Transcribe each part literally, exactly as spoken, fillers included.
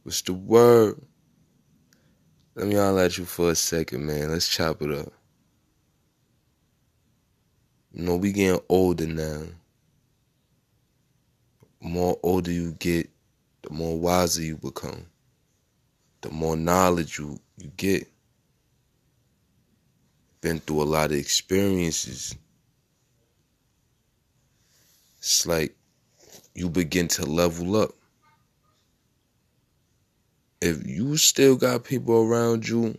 What's the word? Let me holler at you for a second, man. Let's chop it up. You know, we getting older now. The more older you get, the more wiser you become. The more knowledge you, you get. Been through a lot of experiences. It's like you begin to level up. If you still got people around you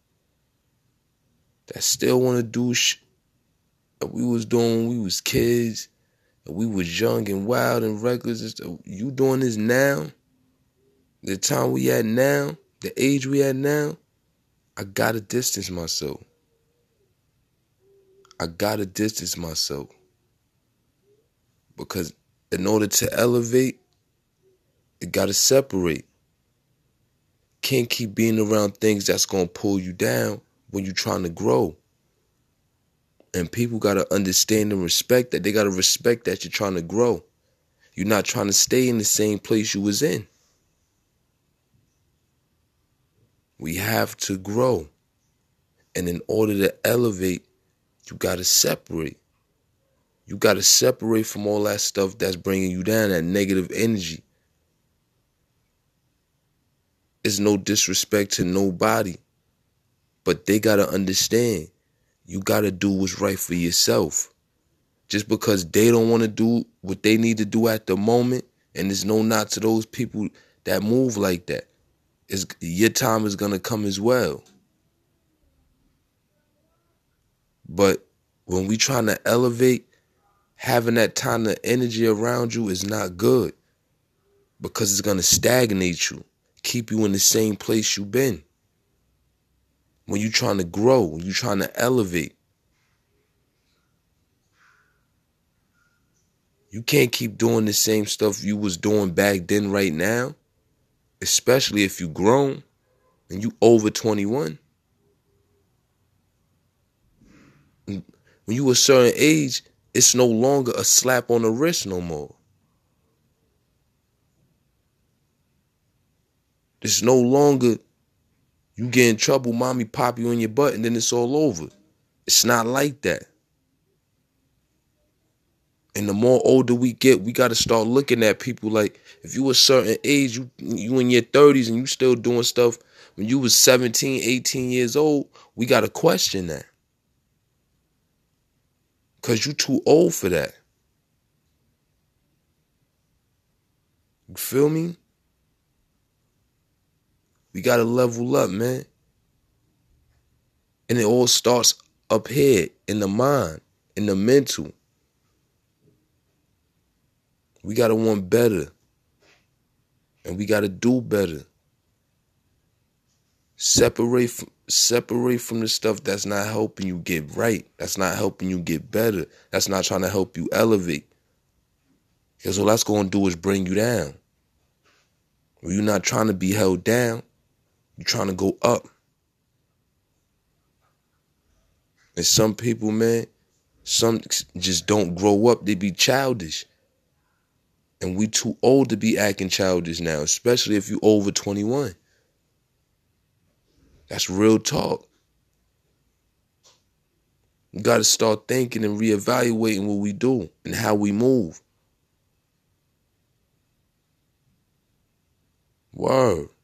that still want to do shit that we was doing when we was kids, and we was young and wild and reckless, and stuff, you doing this now, the time we at now, the age we at now, I gotta distance myself. I gotta distance myself. Because in order to elevate, it gotta separate. Can't keep being around things that's gonna pull you down when you're trying to grow. And people gotta understand and respect that. They gotta respect that you're trying to grow. You're not trying to stay in the same place you was in. We have to grow. And in order to elevate, you gotta separate. You gotta separate from all that stuff that's bringing you down, that negative energy. It's no disrespect to nobody, but they gotta understand you gotta do what's right for yourself. Just because they don't want to do what they need to do at the moment, and there's no knock to those people that move like that, is your time is gonna come as well. But when we trying to elevate, having that kind of energy around you is not good, because it's gonna stagnate you, keep you in the same place you've been. When you're trying to grow, when you're trying to elevate, you can't keep doing the same stuff you was doing back then right now, especially if you grown and you over twenty-one. When you a certain age, it's no longer a slap on the wrist no more. It's no longer you get in trouble, mommy pop you in your butt, and then it's all over. It's not like that. And the more older we get, we got to start looking at people like, if you a certain age, you you in your thirties and you still doing stuff when you was seventeen, eighteen years old, we got to question that. Because you too old for that. You feel me? We got to level up, man. And it all starts up here in the mind, in the mental. We got to want better. And we got to do better. Separate from, separate from the stuff that's not helping you get right. That's not helping you get better. That's not trying to help you elevate. Because all that's going to do is bring you down. When you're not trying to be held down, you're trying to go up. And some people, man, some just don't grow up. They be childish. And we too old to be acting childish now, especially if you over twenty-one. That's real talk. We got to start thinking and reevaluating what we do and how we move. Word.